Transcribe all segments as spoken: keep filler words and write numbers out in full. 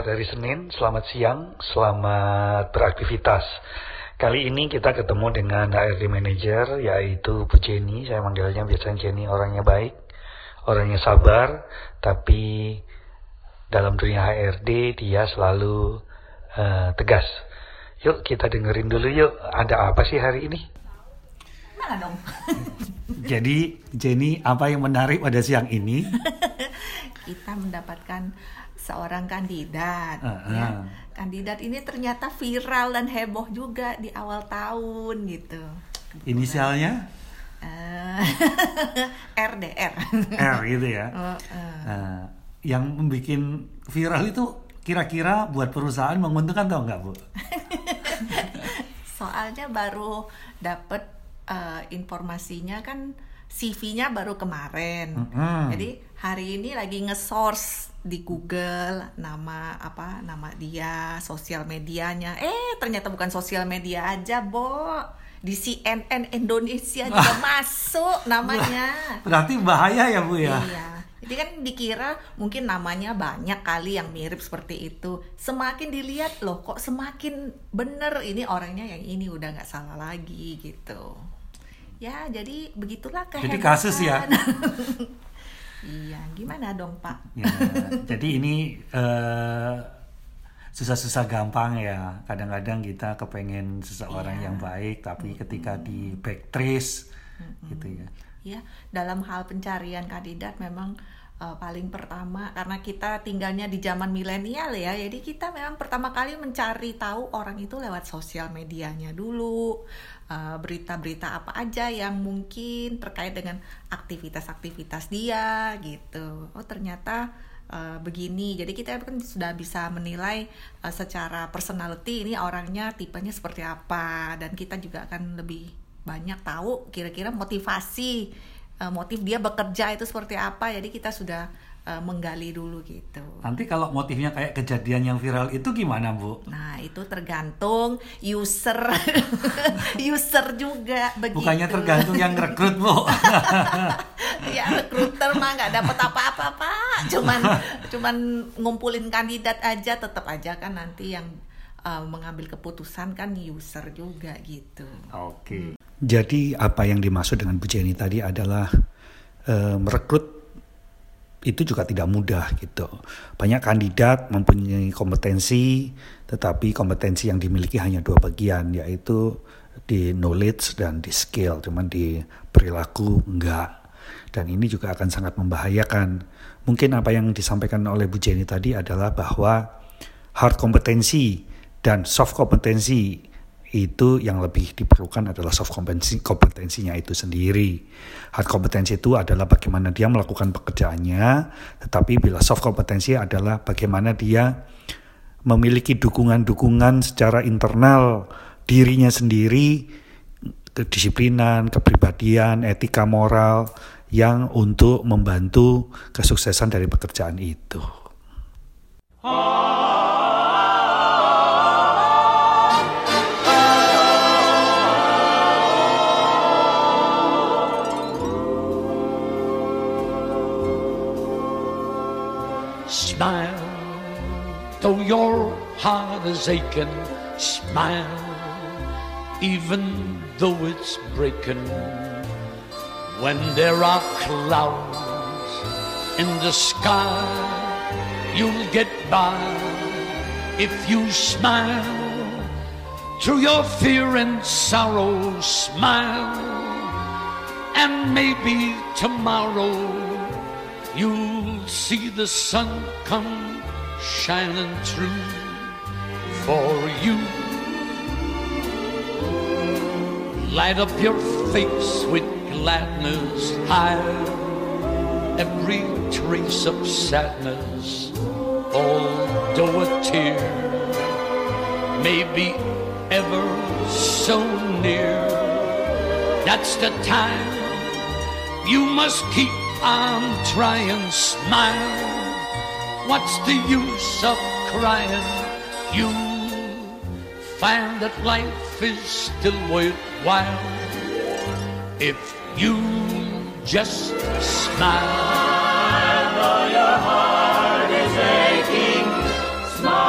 Selamat hari Senin, selamat siang, selamat beraktivitas. Kali ini kita ketemu dengan H R D Manager, yaitu Bu Jenny. Saya manggilnya biasanya Jenny, orangnya baik, orangnya sabar, tapi dalam dunia H R D dia selalu uh, tegas. Yuk kita dengerin dulu yuk, ada apa sih hari ini? Mana dong? Jadi Jenny, apa yang menarik pada siang ini? Kita mendapatkan seorang kandidat, uh-huh. ya. Kandidat ini ternyata viral dan heboh juga di awal tahun gitu. Inisialnya? Uh, R D R. R gitu ya. Uh, uh. Uh, yang membuat viral itu kira-kira buat perusahaan menguntungkan atau enggak, Bu? Soalnya baru dapat uh, informasinya kan, C V-nya baru kemarin. Mm-hmm. Jadi hari ini lagi nge-source di Google nama apa nama dia, sosial medianya. Eh ternyata bukan sosial media aja, Bo. Di C N N Indonesia juga masuk namanya. Berarti bahaya ya, Bu ya? Iya. Jadi kan dikira mungkin namanya banyak kali yang mirip seperti itu. Semakin dilihat loh kok semakin bener ini orangnya yang ini, udah nggak salah lagi gitu. Ya, jadi begitulah kehebatan. Jadi kasus ya? Iya, gimana dong Pak? Ya, jadi ini uh, susah-susah gampang ya. Kadang-kadang kita kepengen seseorang ya. yang baik, tapi mm-hmm. ketika di backtrace mm-hmm. gitu ya. Ya, dalam hal pencarian kandidat memang uh, paling pertama, karena kita tinggalnya di zaman milenial ya, jadi kita memang pertama kali mencari tahu orang itu lewat sosial medianya dulu. Uh, berita-berita apa aja yang mungkin terkait dengan aktivitas-aktivitas dia gitu. Oh ternyata uh, begini. Jadi kita kan sudah bisa menilai uh, secara personality ini orangnya tipenya seperti apa, dan kita juga akan lebih banyak tahu kira-kira motivasi uh, motif dia bekerja itu seperti apa. Jadi kita sudah uh, menggali dulu gitu. Nanti kalau motifnya kayak kejadian yang viral itu gimana, Bu? Nah itu tergantung user user juga begitu. Bukannya tergantung yang rekrut, Bu? Ya rekruter mah nggak dapat apa-apa Pak, cuman cuman ngumpulin kandidat aja, tetap aja kan nanti yang uh, mengambil keputusan kan user juga gitu. Oke. Okay. Hmm. Jadi apa yang dimaksud dengan Bu Jenny tadi adalah uh, merekrut itu juga tidak mudah gitu. Banyak kandidat mempunyai kompetensi, tetapi kompetensi yang dimiliki hanya dua bagian, yaitu di knowledge dan di skill, cuman di perilaku enggak. Dan ini juga akan sangat membahayakan. Mungkin apa yang disampaikan oleh Bu Jenny tadi adalah bahwa hard kompetensi dan soft kompetensi itu yang lebih diperlukan adalah soft kompetensi, kompetensinya itu sendiri. Hard kompetensi itu adalah bagaimana dia melakukan pekerjaannya, tetapi bila soft kompetensi adalah bagaimana dia memiliki dukungan-dukungan secara internal dirinya sendiri, kedisiplinan, kepribadian, etika moral yang untuk membantu kesuksesan dari pekerjaan itu. Smile, though your heart is aching. Smile, even though it's breaking. When there are clouds in the sky, you'll get by if you smile. Through your fear and sorrow, smile, and maybe tomorrow you'll see the sun come shining through for you. Light up your face with gladness, hide every trace of sadness. Although a tear may be ever so near, that's the time you must keep I'm trying, smile. What's the use of crying? You find that life is still worthwhile if you just smile. Though your heart is aching, smile.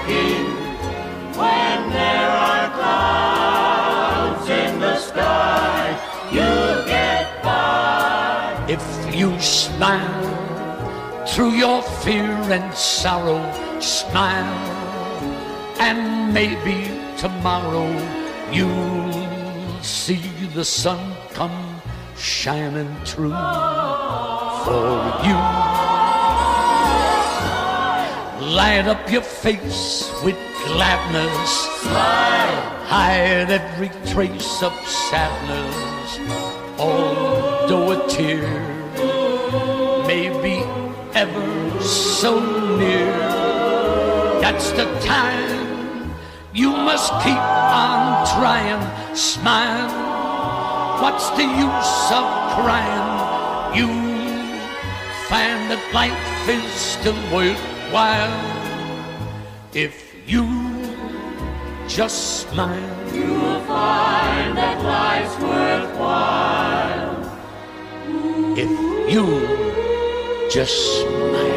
working when there are clouds in the sky. You'll get by if you smile through your fear and sorrow. Smile, and maybe tomorrow you'll see the sun come shining through for you. Light up your face with gladness. Smile. Hide every trace of sadness. Although a tear may be ever so near, that's the time you must keep on trying. Smile. What's the use of crying? You find that life is still worthwhile if you just smile. You'll find that life's worthwhile if you just smile.